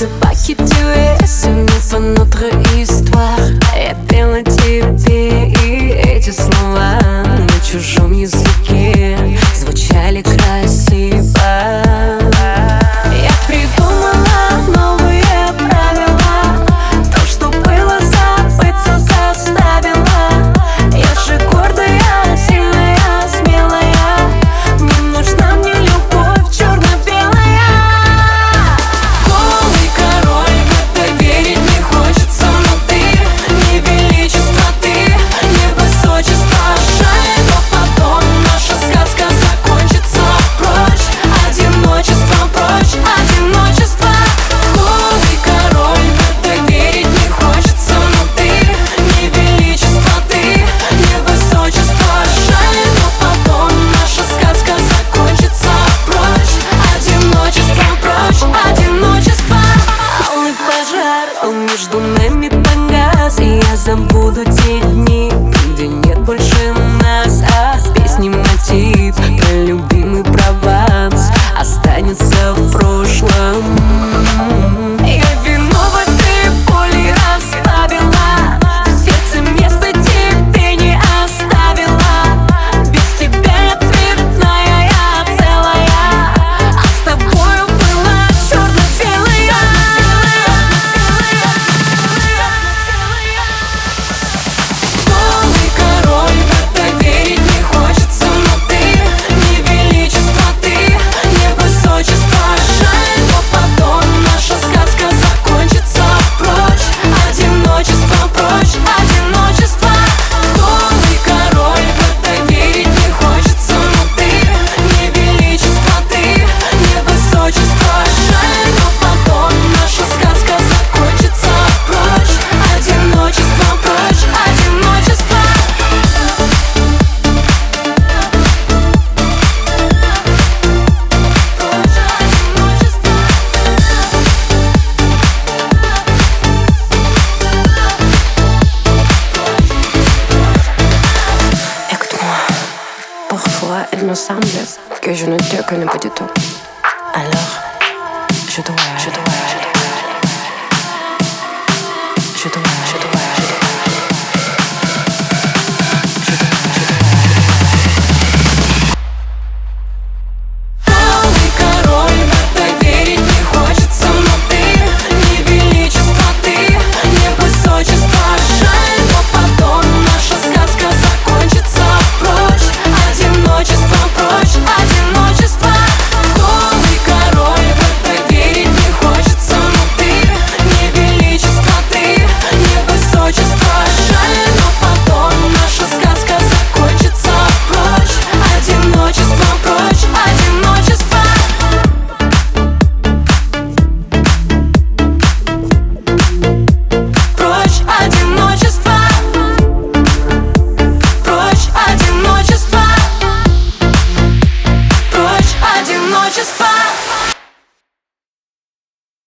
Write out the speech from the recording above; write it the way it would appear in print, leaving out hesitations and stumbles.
Запахи sur notre histoire. Я пела тебе, и эти слова на чужом языке звучали красиво. Я придумала новые правила, то, что было, забыться заставила. Я же гордая, сильная, смелая, не нужна мне любовь черно-белая. Голый король, в это верить не хочется, но ты не величество, ты не высочество. Жаль, но потом наша сказка закончится. Прочь одиночество, прочь одиночество. Голый король, в это верить не хочется, но ты не величество, ты не высочество. Жаль, но потом наша сказка закончится. Прочь одиночество, прочь одиночество. Алый пожар, он между нами погас, и я забуду те дни, где нет больше нас. А в песне мотив про любимый Прованс останется в прошлом. Я вино в этой боли разбавила, в сердце место тебе не оставила. Без тебя я цветная, я целая, а с тобою была черно-белая. Голый король, в это верить не хочется, но ты не величество, ты не высочество. Жаль, но потом наша сказка закончится. Прочь одиночество, прочь одиночество. Голый король, в это верить не хочется, но ты не величество, ты не высочество. Жаль, но потом наша сказка закончится. Прочь одиночество, прочь одиночество. Écoute-moi, parfois il me semble que je ne te connais pas du tout.